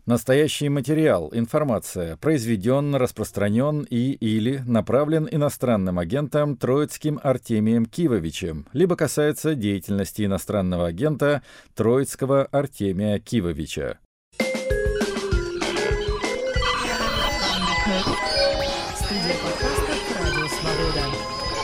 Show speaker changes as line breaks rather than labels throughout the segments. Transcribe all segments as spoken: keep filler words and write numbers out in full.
Настоящий материал, информация, произведен, распространен и или направлен иностранным агентом Троицким Артемием Кивовичем, либо касается деятельности иностранного агента Троицкого Артемия Кивовича.
Студия подкастов «Радио Свобода».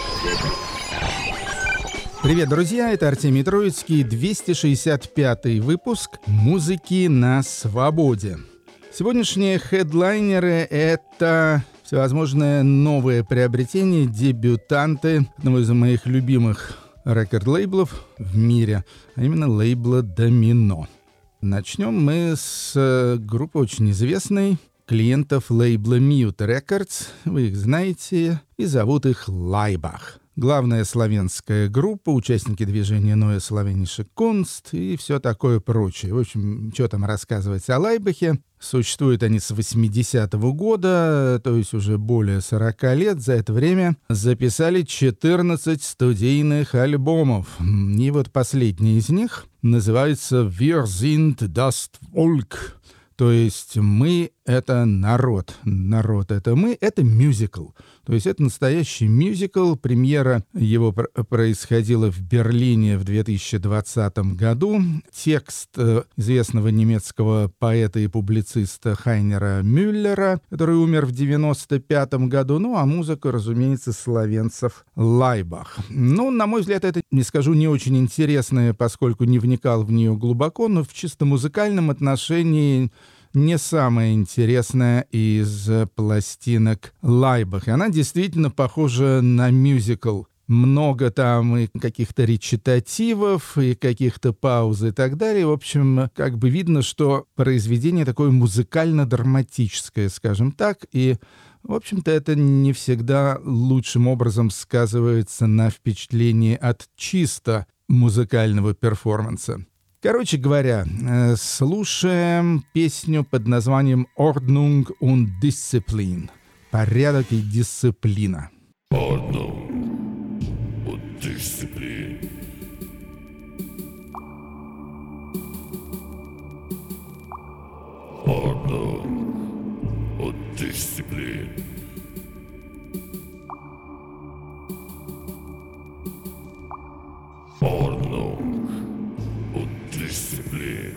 Привет, друзья, это Артемий Троицкий, двести шестьдесят пятый выпуск «Музыки на свободе». Сегодняшние хедлайнеры — это всевозможные новые приобретения, дебютанты одного из моих любимых рекорд-лейблов в мире, а именно лейбла «Домино». Начнем мы с группы очень известной, клиентов лейбла Mute Records, вы их знаете, и зовут их Лайбах. Главная славянская группа, участники движения Neue Slawenische Kunst и все такое прочее. В общем, что там рассказывать о Лайбахе. Существуют они с восьмидесятого года, то есть уже более сорока лет. За это время записали четырнадцать студийных альбомов. И вот последний из них называется «Wir sind das Volk». То есть мы — это народ. Народ — это мы. Это мюзикл. То есть это настоящий мюзикл. Премьера его пр- происходила в Берлине в две тысячи двадцатом году. Текст э, известного немецкого поэта и публициста Хайнера Мюллера, который умер в девяносто пятом году. Ну, а музыка, разумеется, словенцев Лайбах. Ну, на мой взгляд, это, не скажу, не очень интересное, поскольку не вникал в нее глубоко, но в чисто музыкальном отношении не самая интересная из пластинок Лайбах. И она действительно похожа на мюзикл. Много там и каких-то речитативов, и каких-то пауз и так далее. В общем, как бы видно, что произведение такое музыкально-драматическое, скажем так, и, в общем-то, это не всегда лучшим образом сказывается на впечатлении от чисто музыкального перформанса. Короче говоря, слушаем песню под названием «Ordnung und Disziplin» — «Порядок и дисциплина».
Ordnung und Disziplin. Ordnung und Disziplin. Ordnung und Disziplin.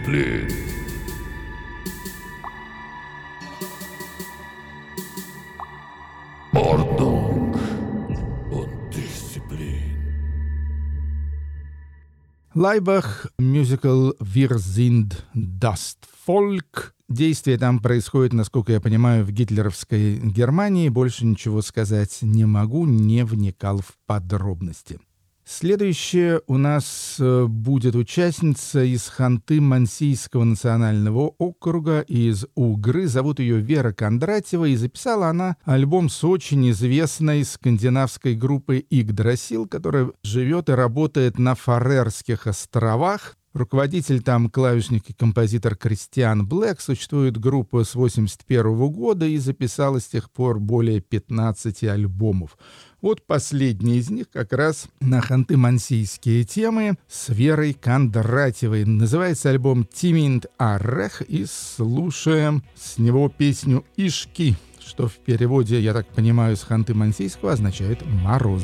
Disziplin. Ordnung und Disziplin.
Лайбах, мюзикл «Wir sind das Volk». Действие там происходит, насколько я понимаю, в гитлеровской Германии. Больше ничего сказать не могу, не вникал в подробности. Следующая у нас будет участница из Ханты-Мансийского национального округа, из Угры. Зовут ее Вера Кондратьева, и записала она альбом с очень известной скандинавской группой Игдрасил, которая живет и работает на Фарерских островах. Руководитель там клавишник и композитор Кристиан Блэк. Существует группа с восемьдесят первого года и записала с тех пор более пятнадцати альбомов. Вот последний из них как раз на ханты-мансийские темы с Верой Кондратьевой. Называется альбом «Тиминт Арех», и слушаем с него песню «Ишки», что в переводе, я так понимаю, с ханты-мансийского означает «мороз».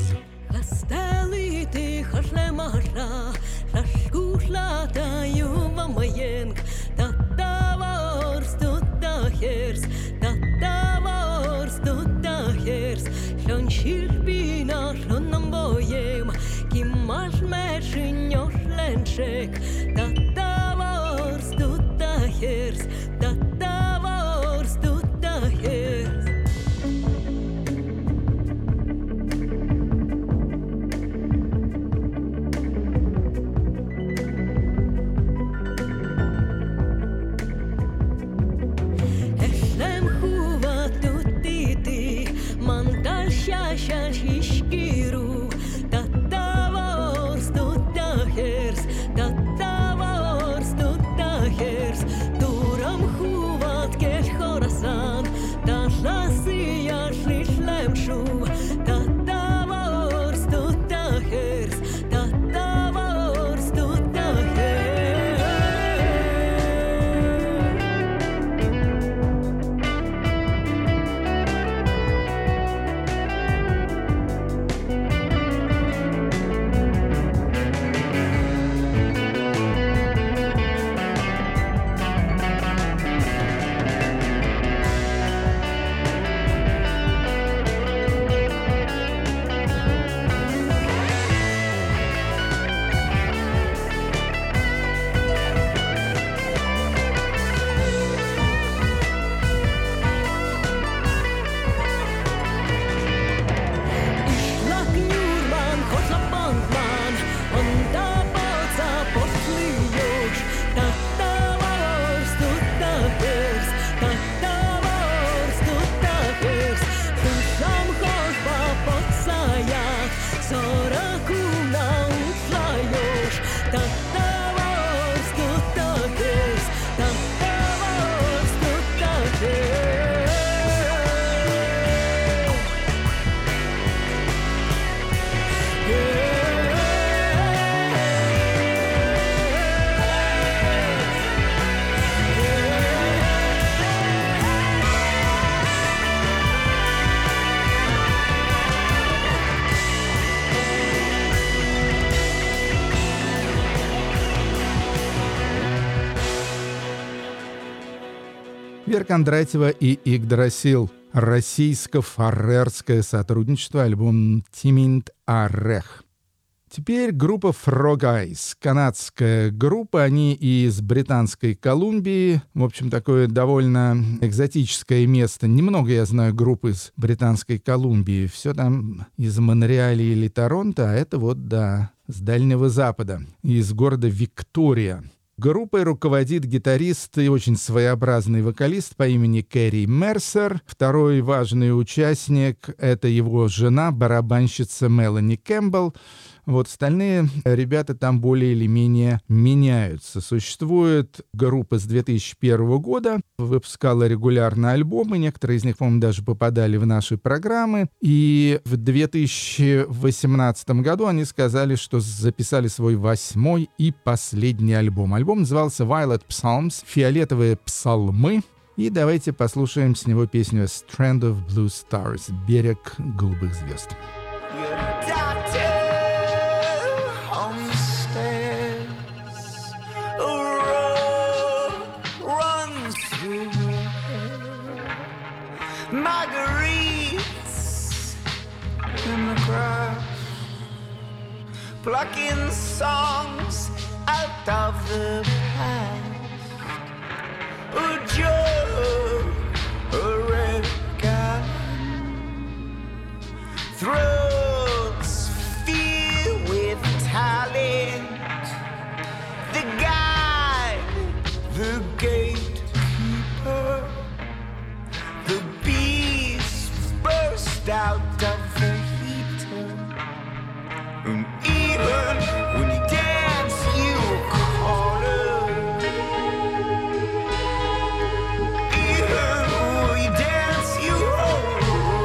Вера Кондратьева и Игдрасил. Российско-фарерское сотрудничество, альбом «Тиминт Арех». Теперь группа Frog Eyes, канадская группа, они из Британской Колумбии. В общем, такое довольно экзотическое место. Немного я знаю групп из Британской Колумбии. Все там из Монреаля или Торонто, а это вот, да, с Дальнего Запада, из города Виктория. Группой руководит гитарист и очень своеобразный вокалист по имени Кэрри Мерсер. Второй важный участник — это его жена, барабанщица Мелани Кэмпбелл. Вот остальные ребята там более или менее меняются. Существует группа с две тысячи первого года, выпускала регулярно альбомы, некоторые из них, по-моему, даже попадали в наши программы. И в две тысячи восемнадцатом году они сказали, что записали свой восьмой и последний альбом. Альбом назывался Violet Psalms, «Фиолетовые псалмы». И давайте послушаем с него песню «Strand of Blue Stars», «Берег голубых звезд».
Road plucking songs out of the past. A joke, a record, throats filled with talent. The guide, the gatekeeper, the beast burst out of the heater. And even when you dance, you call her. Even when you dance, you hold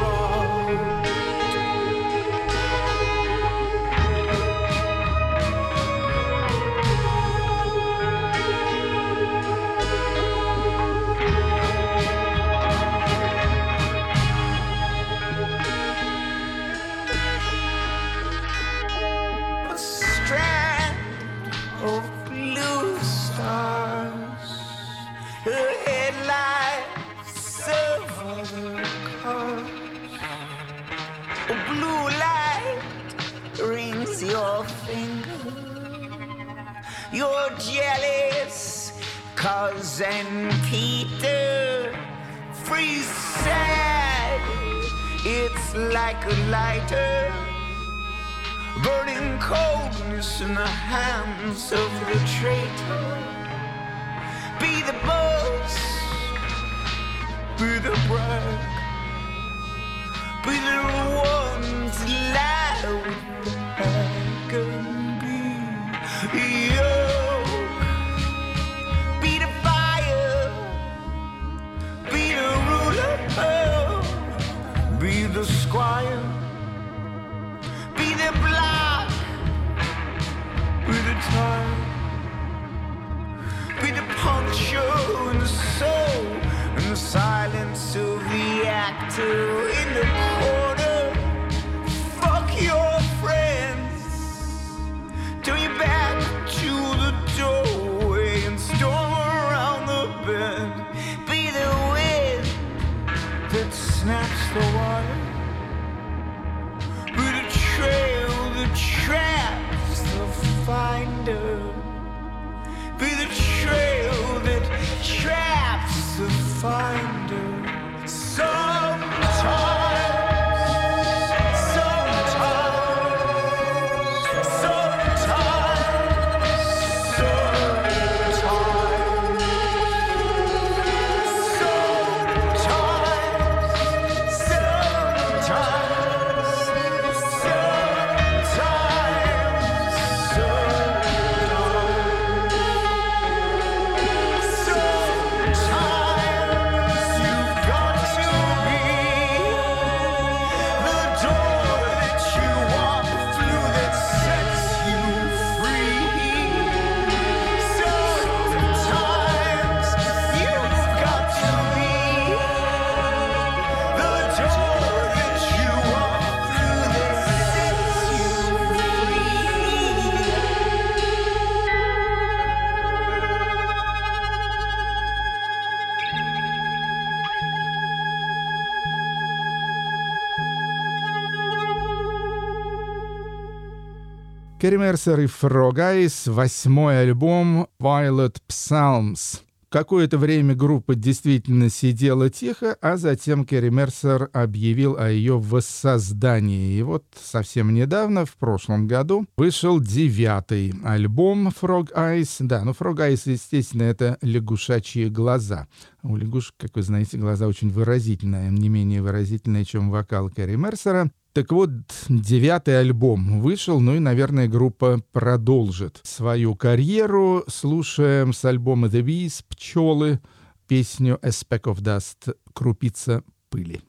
of blue stars, her headlights of other cars. A blue light rings your finger. You're jealous, cousin Peter. Free sad, it's like a lighter. Burning coldness in the hands of the traitor. Be the boss, be the brag, be the one to lie with the bag and be yoke. Be the fire, be the ruler, be the squire. Be the block, be the time, be the puncture in the soul, and the silence of the actor in the corner. Fuck your friends, turn your back to the doorway and storm around the bend. Be the wind that snaps the wire. Trail that traps the finder. Be the trail that traps the finder. Sometimes, sometimes, sometimes, sometimes,
Керри Мерсер и Frog Eyes, восьмой альбом Violet Psalms. Какое-то время группа действительно сидела тихо, а затем Керри Мерсер объявил о ее воссоздании. И вот совсем недавно, в прошлом году, вышел девятый альбом Frog Eyes. Да, ну Frog Eyes, естественно, это лягушачьи глаза. У лягушек, как вы знаете, глаза очень выразительные, не менее выразительные, чем вокал Керри Мерсера. Так вот, девятый альбом вышел, ну и, наверное, группа продолжит свою карьеру. Слушаем с альбома The Bees «Пчелы» песню «A Speck of Dust» — «Крупица пыли».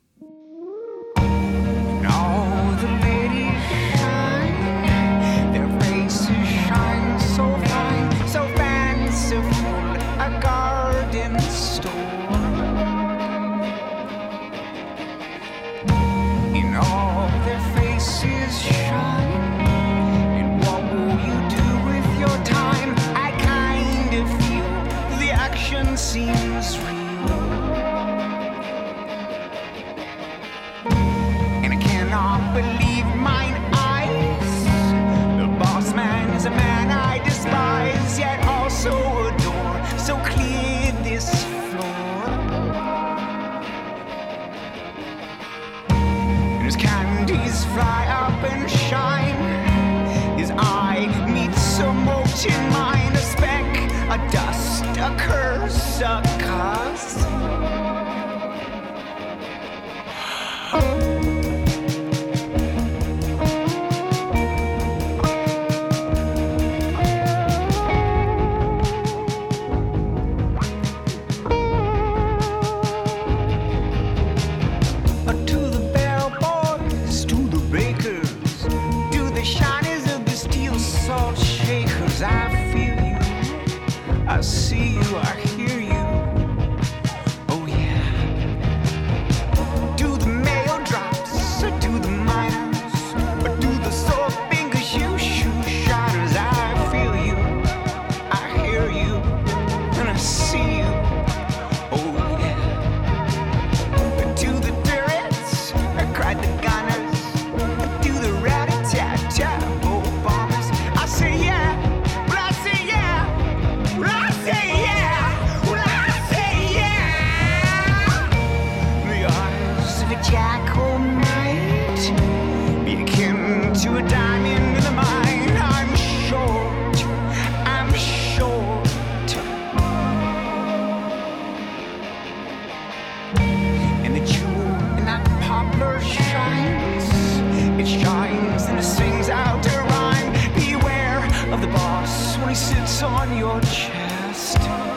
Seems real. in mind, a speck, a dust, a curse, a cause. I see you, I hear you. Oh yeah. Do the mail drops, or do the miners, or do the sore fingers you shoot shatters. I feel you, I hear you, and I see you. Oh yeah. Do the turrets, or cried the gunners, or do the rat-a-tat-tat oh bombers. I say yeah. Jackal might be akin to a diamond in the mine. I'm short, I'm short. And the jewel in that poplar shines. It shines and it sings out a rhyme. Beware of the boss when he sits on your chest.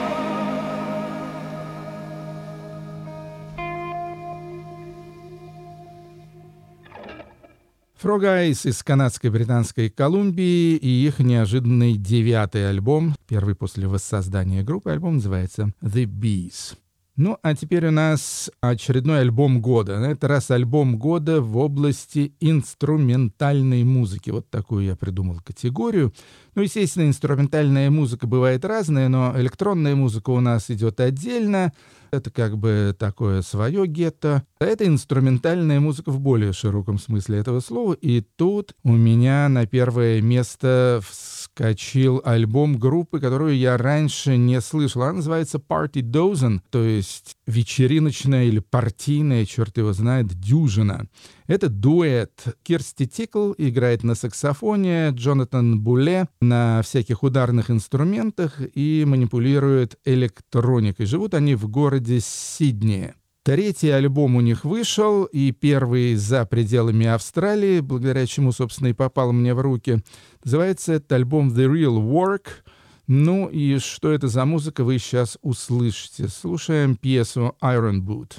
Frog Eyes из канадско-британской Колумбии и их неожиданный девятый альбом, первый после воссоздания группы. Альбом называется The Bees. Ну, а теперь у нас очередной альбом года. На этот раз альбом года в области инструментальной музыки. Вот такую я придумал категорию. Ну, естественно, инструментальная музыка бывает разная, но электронная музыка у нас идет отдельно. Это как бы такое свое гетто. Это инструментальная музыка в более широком смысле этого слова. И тут у меня на первое место вскочил альбом группы, которую я раньше не слышал. Она называется Party Dozen, то есть вечериночная или партийная, черт его знает, дюжина. Это дуэт. Кирсти Тикл играет на саксофоне, Джонатан Буле на всяких ударных инструментах и манипулирует электроникой. Живут они в городе Сидней. Третий альбом у них вышел, и первый за пределами Австралии, благодаря чему, собственно, и попал мне в руки. Называется этот альбом The Real Work. Ну и что это за музыка, вы сейчас услышите. Слушаем пьесу Iron Boot.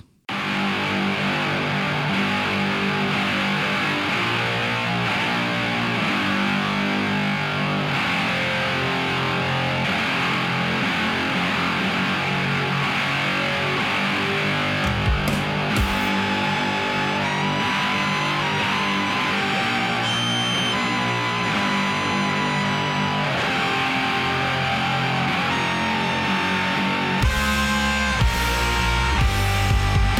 I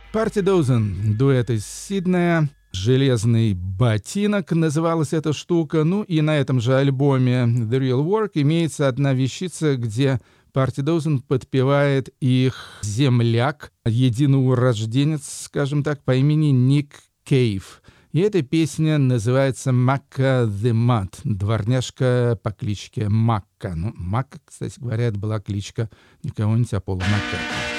Party Dozen, дуэт из Сиднея. «Железный ботинок» называлась эта штука. Ну и на этом же альбоме The Real Work имеется одна вещица, где Party Dozen подпевает их земляк, единоурожденец, скажем так, по имени Ник Кейв. И эта песня называется «Макка the Mud», дворняжка по кличке Макка. Ну, Макка, кстати говоря, это была кличка не кого-нибудь, а Пола Маккартни.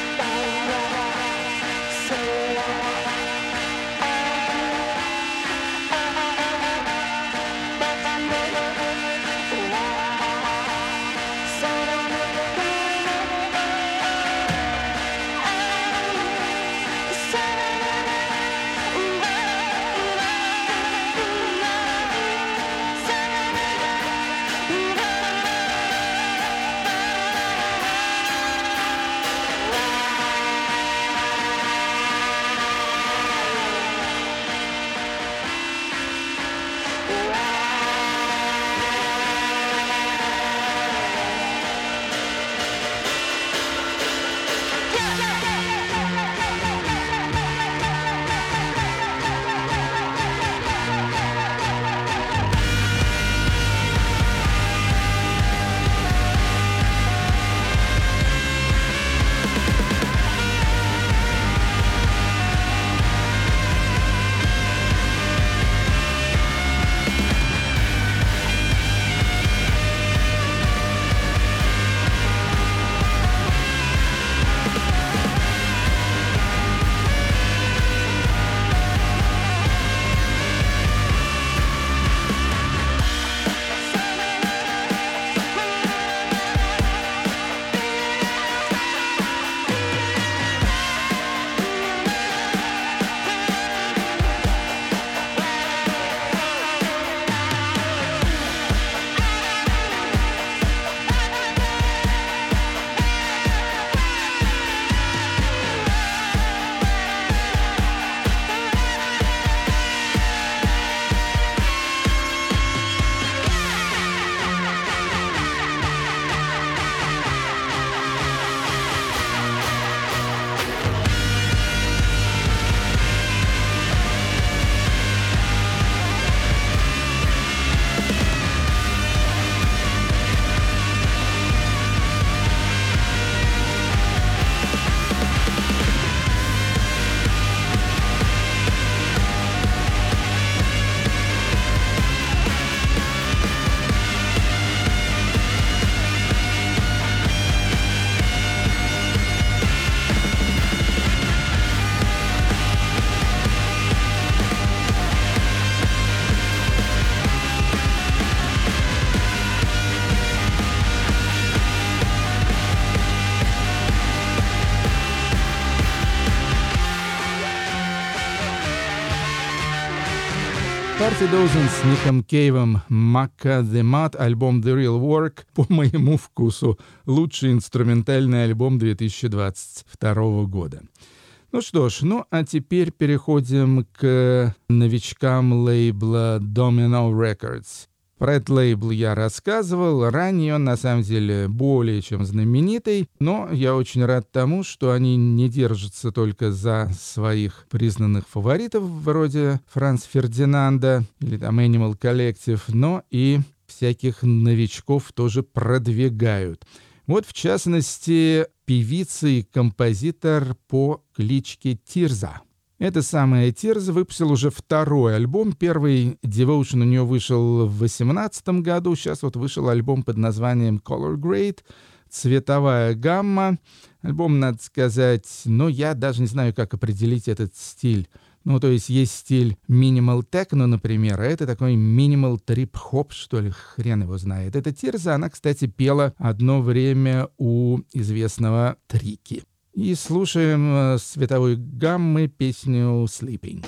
Party Dozen с Ником Кейвом, Macca the Mud, альбом The Real Work, по моему вкусу, лучший инструментальный альбом две тысячи двадцать второго года. Ну что ж, ну а теперь переходим к новичкам лейбла Domino Records. Про этот лейбл я рассказывал. Ранее он, на самом деле, более чем знаменитый, но я очень рад тому, что они не держатся только за своих признанных фаворитов, вроде Франца Фердинанда или там Animal Collective, но и всяких новичков тоже продвигают. Вот, в частности, певица и композитор по кличке Тирза. Эта самая Тирза выпустила уже второй альбом. Первый Devotion у нее вышел в две тысячи восемнадцатом году. Сейчас вот вышел альбом под названием Color Grade, цветовая гамма. Альбом, надо сказать, ну, я даже не знаю, как определить этот стиль. Ну, то есть есть стиль Minimal Techno, например, а это такой Minimal Trip-Hop, что ли, хрен его знает. Эта Тирза, она, кстати, пела одно время у известного Трики. И слушаем с цветовой гаммы песню «Sleeping».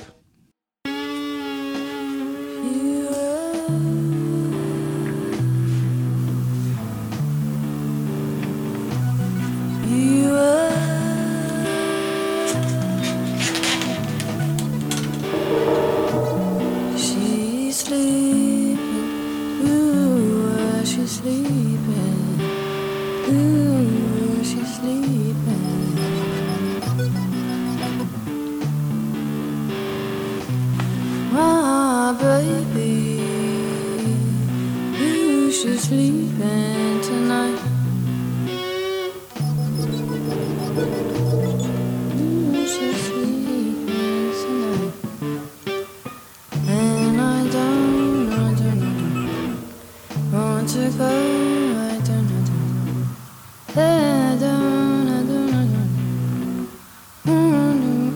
she's sleeping tonight. Mm, she's sleeping tonight. And I don't, I don't, I don't want to go. I don't, I don't, I don't, I don't, I don't. Mm-hmm.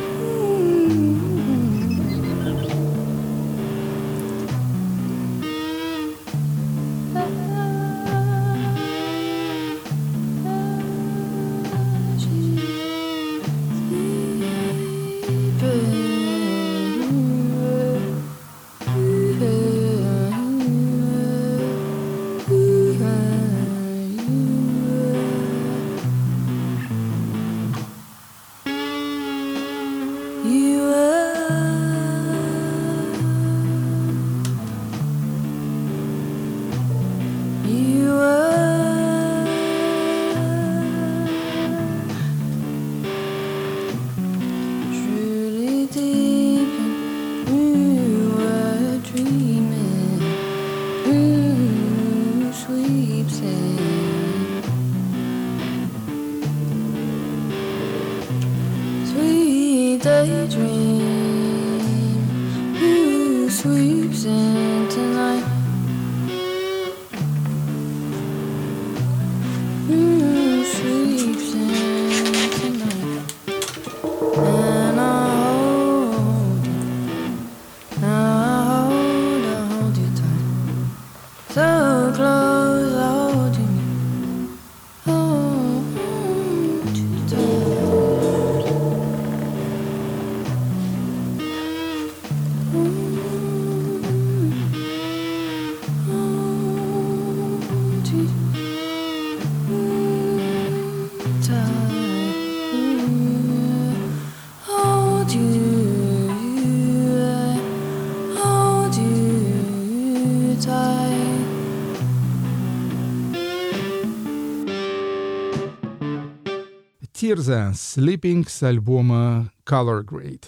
Тирза «Sleeping» с альбома Color Grade.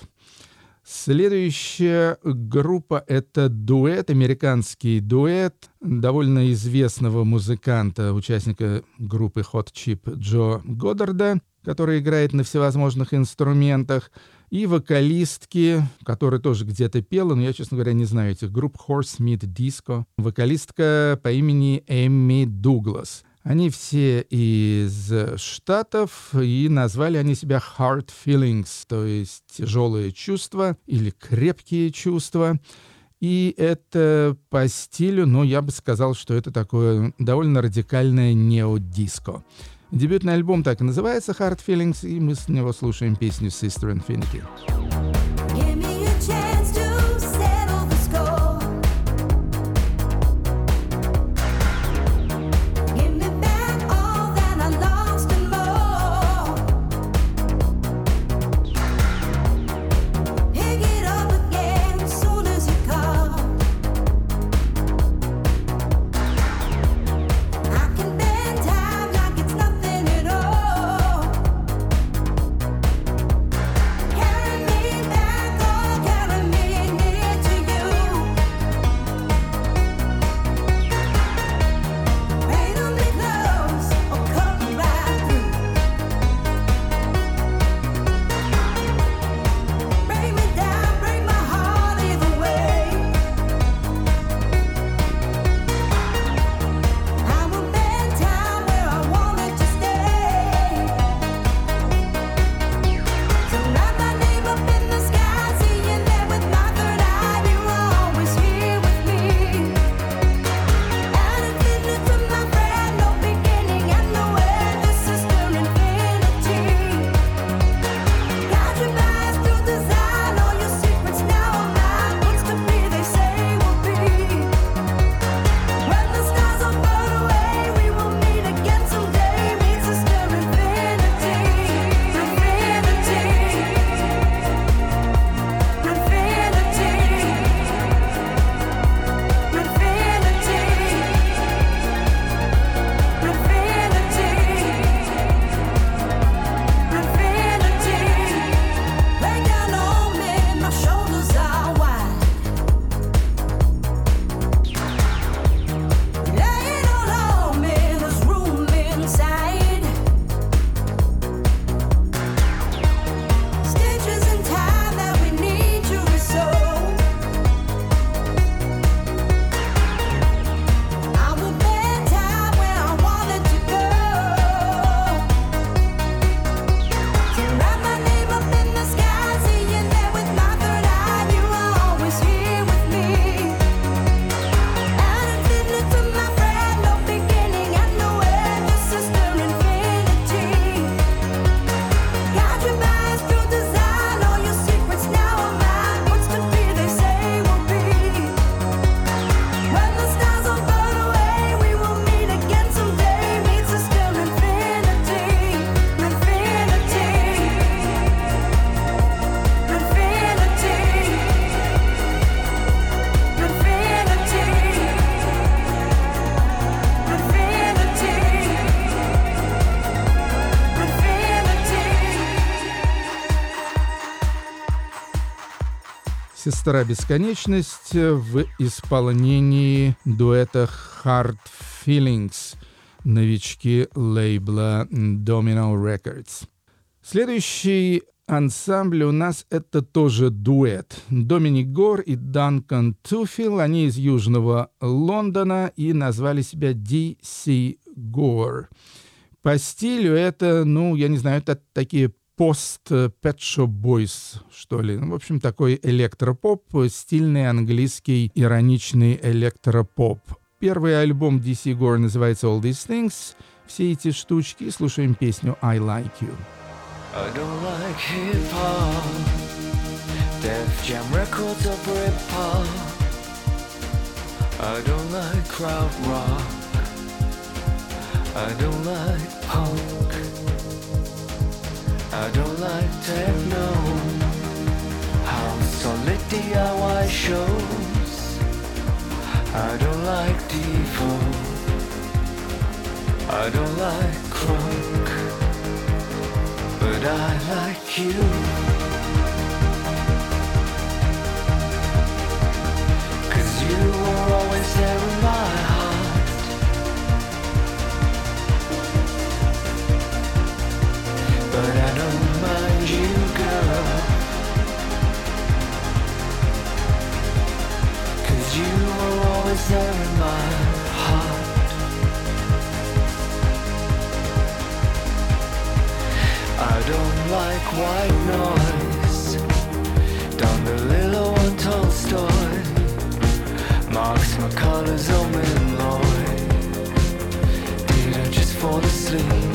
Следующая группа — это дуэт, американский дуэт довольно известного музыканта, участника группы Hot Chip Джо Годдарда, который играет на всевозможных инструментах, и вокалистки, которая тоже где-то пела, но я, честно говоря, не знаю этих групп, Horsemeat Disco, вокалистка по имени Эмми Дуглас. Они все из Штатов, и назвали они себя Hard Feelings, то есть тяжелые чувства или крепкие чувства. И это по стилю, но я бы сказал, что это такое довольно радикальное нео-диско. Дебютный альбом так и называется Hard Feelings, и мы с него слушаем песню Sister Infinity.
Carry me
«Сестра Бесконечность» в исполнении дуэта Hard Feelings, новички лейбла Domino Records. Следующий ансамбль у нас это тоже дуэт. Доминик Гор и Данкан Туфил, они из Южного Лондона и назвали себя ди си Gore. По стилю это, ну, я не знаю, это такие пост-Pet Shop Boys, что ли. В общем, такой электропоп, стильный английский ироничный электропоп. Первый альбом ди си Gore называется All These Things. Все эти штучки. Слушаем песню I Like You.
I don't like hip-hop, Def Jam records or Britpop. I don't like crowd rock, I don't like punk, I don't like techno, house or lit D I Y shows. I don't like Devo, I don't like crunk, but I like you. Cause you were always there in my heart. But I don't mind you, girl. Cause you were always there in my heart. I don't like white noise. Don DeLillo and Tolstoy, Marx, McCullers, Omen, Lloyd. Did I just fall asleep?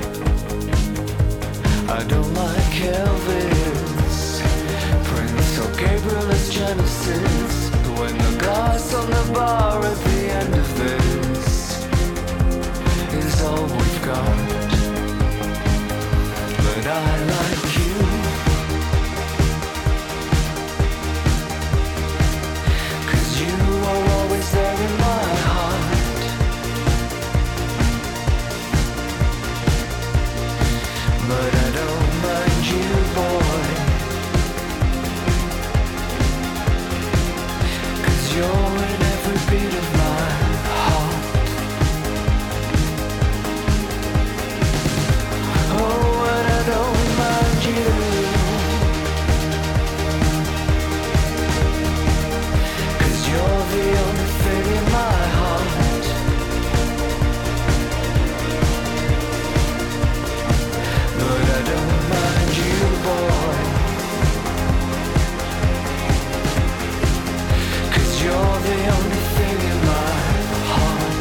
I don't like Elvis, Prince or Gabriel as Genesis. When the glass on the bar at the end of this is all we've got. But I like you. Cause you are always there in my heart. But I don't mind you, boy. Cause you're in every beat of my heart. Oh, and I don't mind you. Cause you're the only thing in my heart. But I don't mind you, boy. Cause you're the only thing in my heart.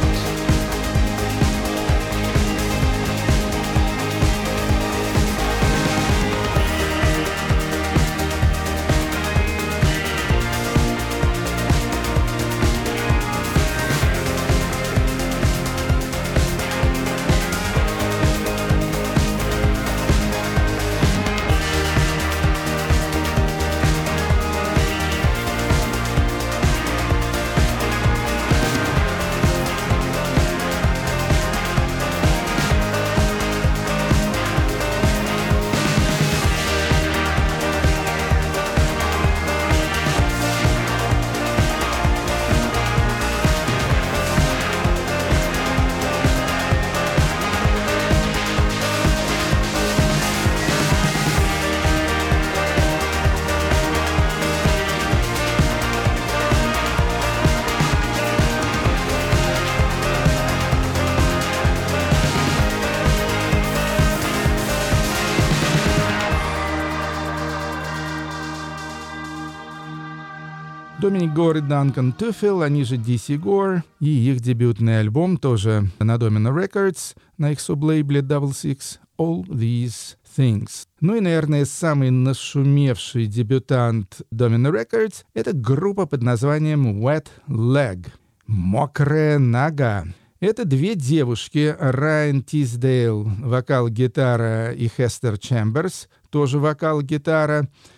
Доминик Гор и Данкан Туфил, они же ди си Gore, и их дебютный альбом тоже на Domino Records, на их сублейбле Double Six, All These Things. Ну и, наверное, самый нашумевший дебютант Domino Records — это группа под названием Wet Leg, мокрая нога. Это две девушки, Райан Тиздейл, вокал-гитара, и Хестер Чемберс, тоже вокал-гитара.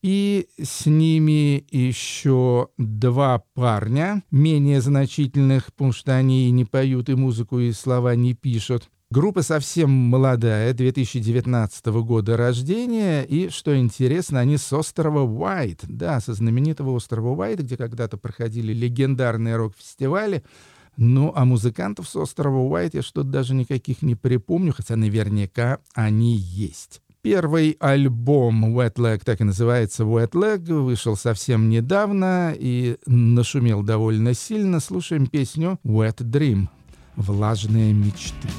И с ними еще два парня, менее значительных, потому что они и не поют, и музыку, и слова не пишут. Группа совсем молодая, две тысячи девятнадцатого года рождения, и, что интересно, они с острова Уайт, да, со знаменитого острова Уайт, где когда-то проходили легендарные рок-фестивали. Ну, а музыкантов с острова Уайт я что-то даже никаких не припомню, хотя наверняка они есть. Первый альбом Wet Leg, так и называется Wet Leg, вышел совсем недавно и нашумел довольно сильно. Слушаем песню Wet Dream — «Влажные мечты».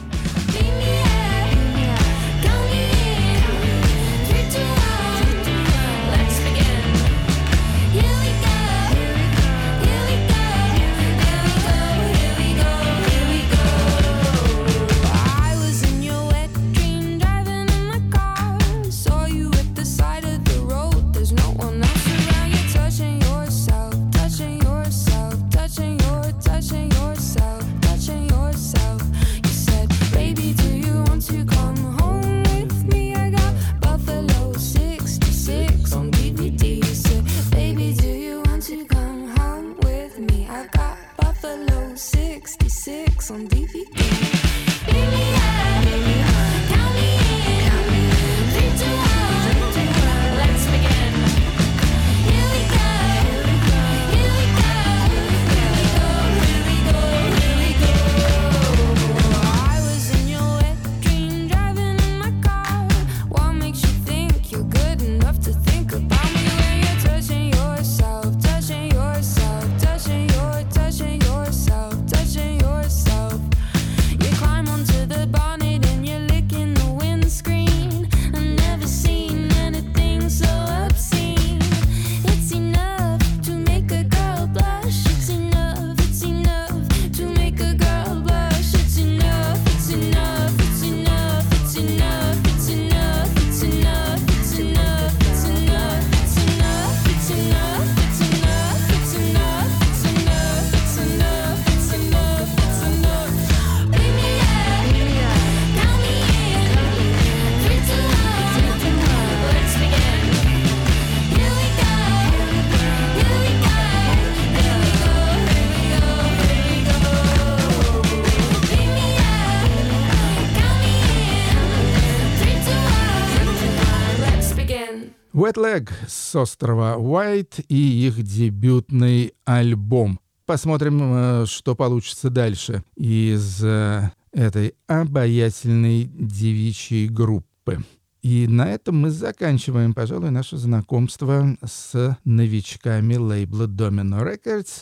Wet Leg с острова Уайт и их дебютный альбом. Посмотрим, что получится дальше из этой обаятельной девичьей группы. И на этом мы заканчиваем, пожалуй, наше знакомство с новичками лейбла Domino Records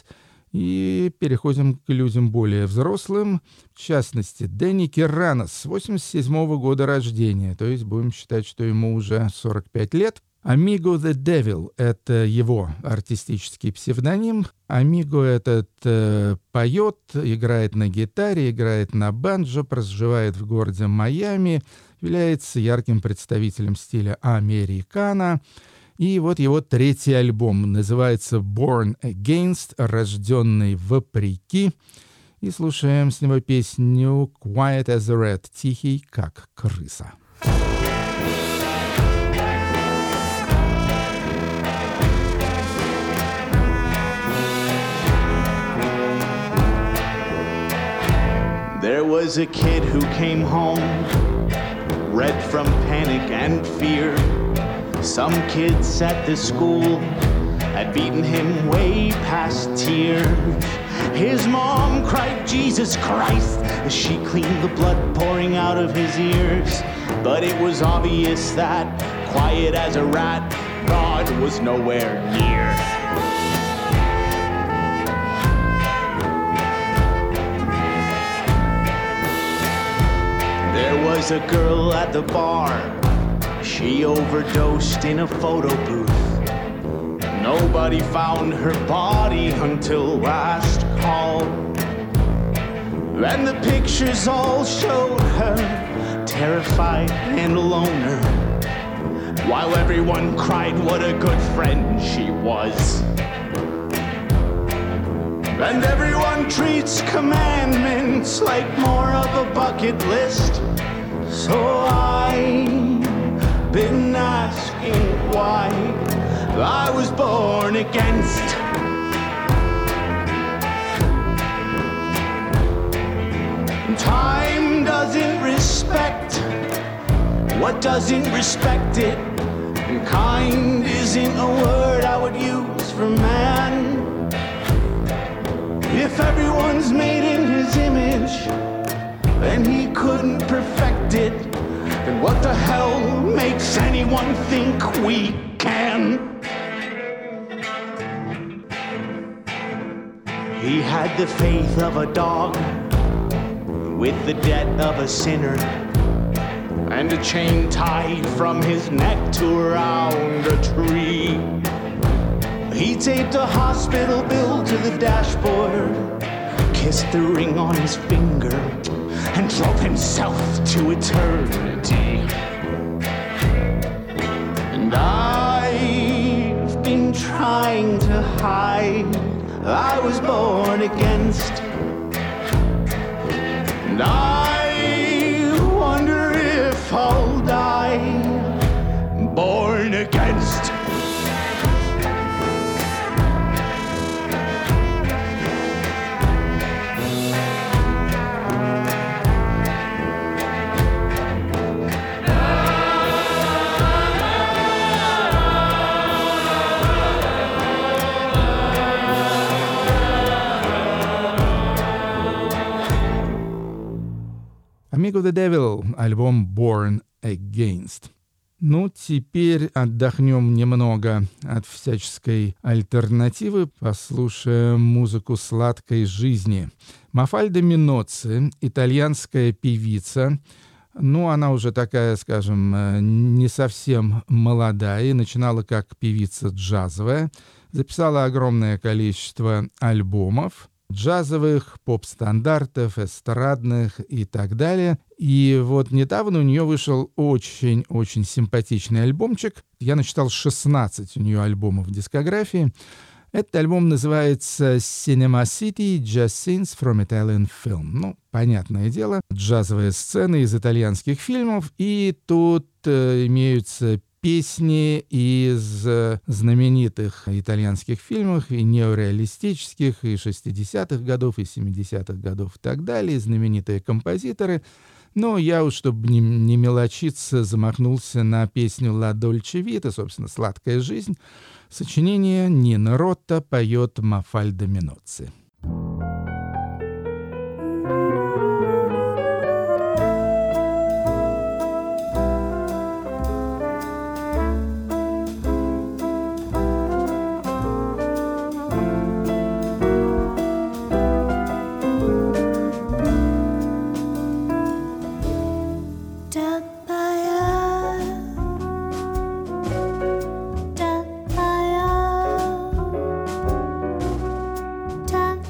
и переходим к людям более взрослым, в частности, Дэнни Киранос, восемьдесят седьмого года рождения, то есть будем считать, что ему уже сорок пять лет. Amigo the Devil — это его артистический псевдоним. Amigo этот э, поет, играет на гитаре, играет на банджо, проживает в городе Майами, является ярким представителем стиля американо. И вот его третий альбом называется «Born Against», «Рожденный вопреки». И слушаем с него песню «Quiet as a Rat», «Тихий, как крыса».
There was a kid who came home, red from panic and fear. Some kids at the school had beaten him way past tears. His mom cried, Jesus Christ, as she cleaned the blood pouring out of his ears. But it was obvious that, quiet as a rat, God was nowhere near. There was a girl at the bar. She overdosed in a photo booth. Nobody found her body until last call. And the pictures all showed her terrified and a loner, while everyone cried what a good friend she was. And everyone treats commandments like more of a bucket list. So I've been asking why I was born against. Time doesn't respect what doesn't respect it. And kind isn't a word I would use for man. If everyone's made in his image and he couldn't perfect it, then what the hell makes anyone think we can? He had the faith of a dog with the debt of a sinner, and a chain tied from his neck to around a tree. He taped a hospital bill to the dashboard, kissed the ring on his finger, and drove himself to eternity. And I've been trying to hide I was born against. And I wonder if I'll die born against.
Amigo the Devil, альбом Born Against. Ну, теперь отдохнем немного от всяческой альтернативы, послушаем музыку сладкой жизни. Мафальда Миноцци, итальянская певица. Ну, она уже такая, скажем, не совсем молодая и начинала как певица джазовая. Записала огромное количество альбомов. Джазовых, поп-стандартов, эстрадных и так далее. И вот недавно у нее вышел очень-очень симпатичный альбомчик. Я насчитал шестнадцать у нее альбомов в дискографии. Этот альбом называется «Cinema City Jazz Scenes from Italian Film». Ну, понятное дело, джазовые сцены из итальянских фильмов. И тут э, имеются песни из знаменитых итальянских фильмов, и неореалистических, и шестидесятых годов, и семидесятых годов и так далее, знаменитые композиторы. Но я уж, чтобы не, не мелочиться, замахнулся на песню «Ла Дольче Вита», собственно, «Сладкая жизнь». Сочинение Нино Ротта, поет Мафальда Миноцци.
Da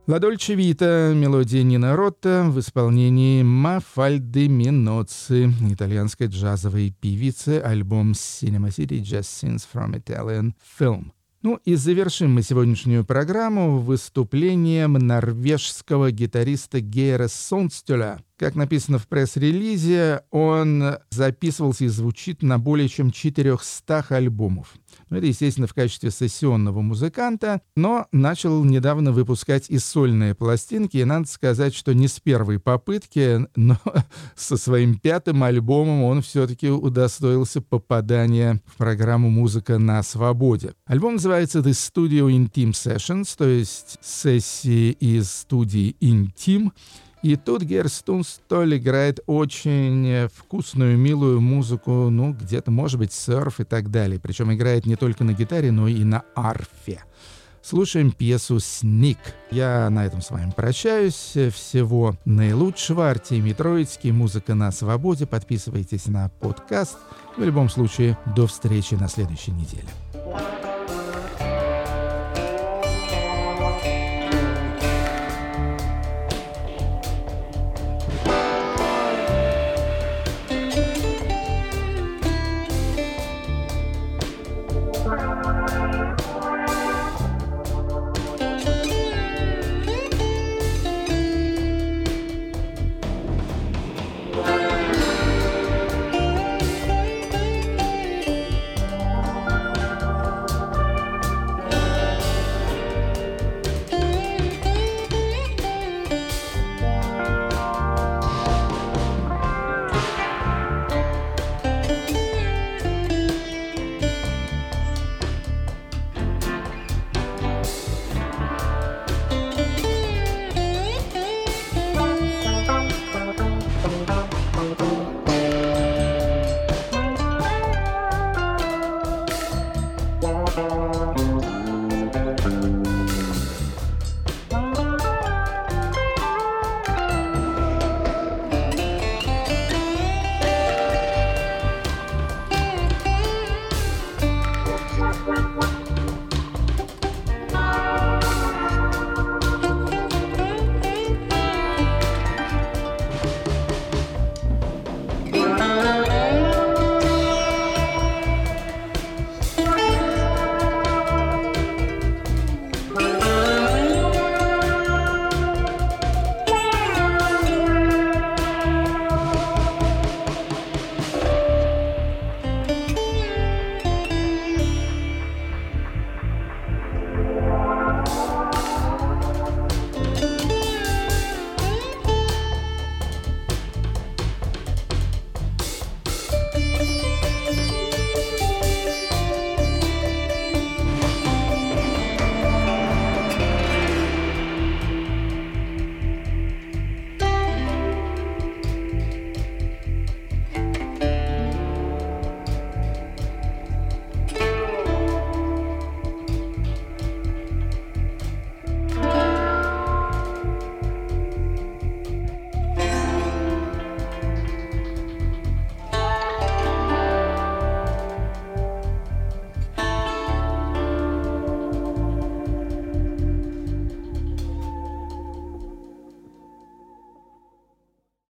«Ла Дольче Вита» — мелодия Нино Ротта в исполнении Мафальды Миноцци, итальянской джазовой певицы, альбом «Cinema City Jazz Scenes from Italian Film». Ну и завершим мы сегодняшнюю программу выступлением норвежского гитариста Гейра Сондстюля. Как написано в пресс-релизе, он записывался и звучит на более чем четырехстах альбомах. Ну, это, естественно, в качестве сессионного музыканта, но начал недавно выпускать и сольные пластинки. И надо сказать, что не с первой попытки, но со своим пятым альбомом он все-таки удостоился попадания в программу «Музыка на свободе». Альбом называется «The Studio Intim Sessions», то есть сессии из студии «Интим». И тут Гейр Сондстюль играет очень вкусную, милую музыку, ну, где-то, может быть, серф и так далее. Причем играет не только на гитаре, но и на арфе. Слушаем пьесу «Сник». Я на этом с вами прощаюсь. Всего наилучшего. Артемий Троицкий, «Музыка на свободе». Подписывайтесь на подкаст. В любом случае, до встречи на следующей неделе.